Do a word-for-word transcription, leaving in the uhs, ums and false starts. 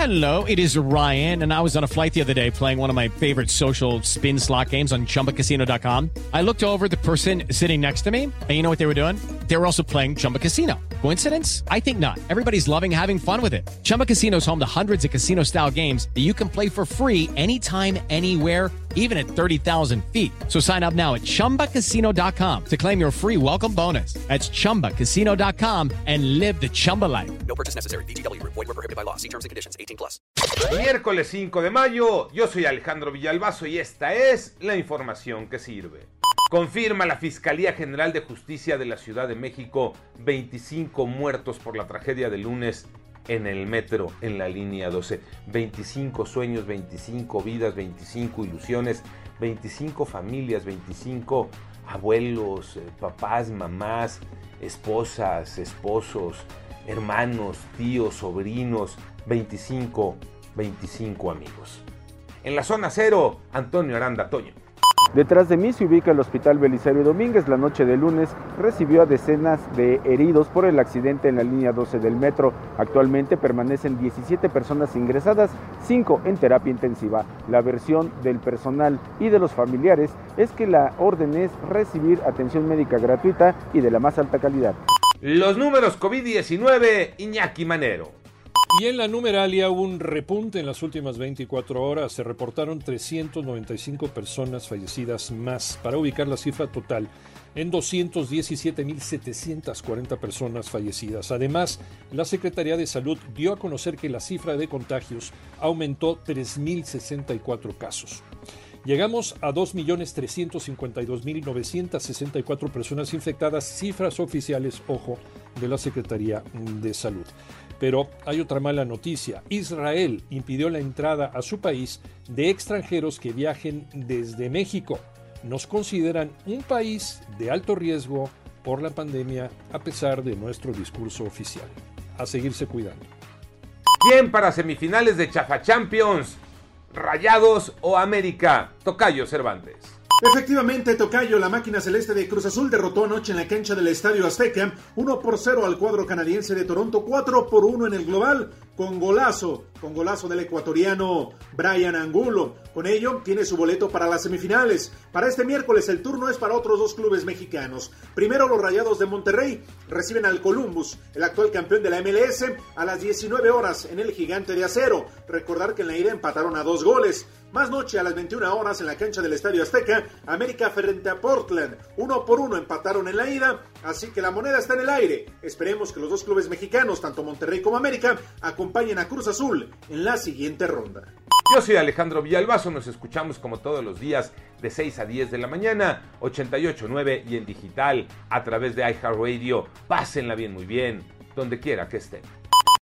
Hello, it is Ryan, and I was on a flight the other day playing one of my favorite social spin slot games on Chumba Casino dot com. I looked over at the person sitting next to me, and you know what they were doing? They were also playing Chumba Casino. Coincidence? I think not. Everybody's loving having fun with it. Chumba Casino is home to hundreds of casino-style games that you can play for free anytime, anywhere, even at thirty thousand feet. So sign up now at Chumba Casino dot com to claim your free welcome bonus. That's Chumba Casino dot com and live the Chumba life. No purchase necessary. V G W. Void where prohibited by law. See terms and conditions. eighteen plus. Miércoles cinco de mayo, yo soy Alejandro Villalbazo y esta es la información que sirve. Confirma la Fiscalía General de Justicia de la Ciudad de México veinticinco muertos por la tragedia del lunes en el metro, en la línea doce. veinticinco sueños, veinticinco vidas, veinticinco ilusiones, veinticinco familias, veinticinco abuelos, papás, mamás, esposas, esposos, hermanos, tíos, sobrinos, veinticinco, veinticinco amigos. En la zona cero, Antonio Aranda Toño. Detrás de mí se ubica el Hospital Belisario Domínguez. La noche de lunes recibió a decenas de heridos por el accidente en la línea doce del metro. Actualmente permanecen diecisiete personas ingresadas, cinco en terapia intensiva. La versión del personal y de los familiares es que la orden es recibir atención médica gratuita y de la más alta calidad. Los números COVID diecinueve, Iñaki Manero. Y en la numeralia hubo un repunte en las últimas veinticuatro horas. Se reportaron trescientas noventa y cinco personas fallecidas más, para ubicar la cifra total en doscientos diecisiete mil setecientas cuarenta personas fallecidas. Además, la Secretaría de Salud dio a conocer que la cifra de contagios aumentó tres mil sesenta y cuatro casos. Llegamos a dos millones trescientos cincuenta y dos mil novecientas sesenta y cuatro personas infectadas, cifras oficiales, ojo, de la Secretaría de Salud. Pero hay otra mala noticia. Israel impidió la entrada a su país de extranjeros que viajen desde México. Nos consideran un país de alto riesgo por la pandemia, a pesar de nuestro discurso oficial. A seguirse cuidando. ¿Quién para semifinales de Chafa Champions? ¿Rayados o América? Tocayo Cervantes. Efectivamente, Tocayo, la máquina celeste de Cruz Azul derrotó anoche en la cancha del Estadio Azteca uno por cero al cuadro canadiense de Toronto, cuatro por uno en el global, con golazo, con golazo del ecuatoriano Brian Angulo. Con ello, tiene su boleto para las semifinales. Para este miércoles, el turno es para otros dos clubes mexicanos. Primero, los Rayados de Monterrey reciben al Columbus, el actual campeón de la M L S, a las diecinueve horas en el Gigante de Acero. Recordar que en la ida empataron a dos goles. Más noche, a las veintiuna horas, en la cancha del Estadio Azteca, América frente a Portland. Uno por uno empataron en la ida, así que la moneda está en el aire. Esperemos que los dos clubes mexicanos, tanto Monterrey como América, acompañen a Cruz Azul en la siguiente ronda. Yo soy Alejandro Villalbazo, nos escuchamos como todos los días de seis a diez de la mañana, ochenta y ocho punto nueve y en digital a través de iHeartRadio. Pásenla bien, muy bien, donde quiera que estén.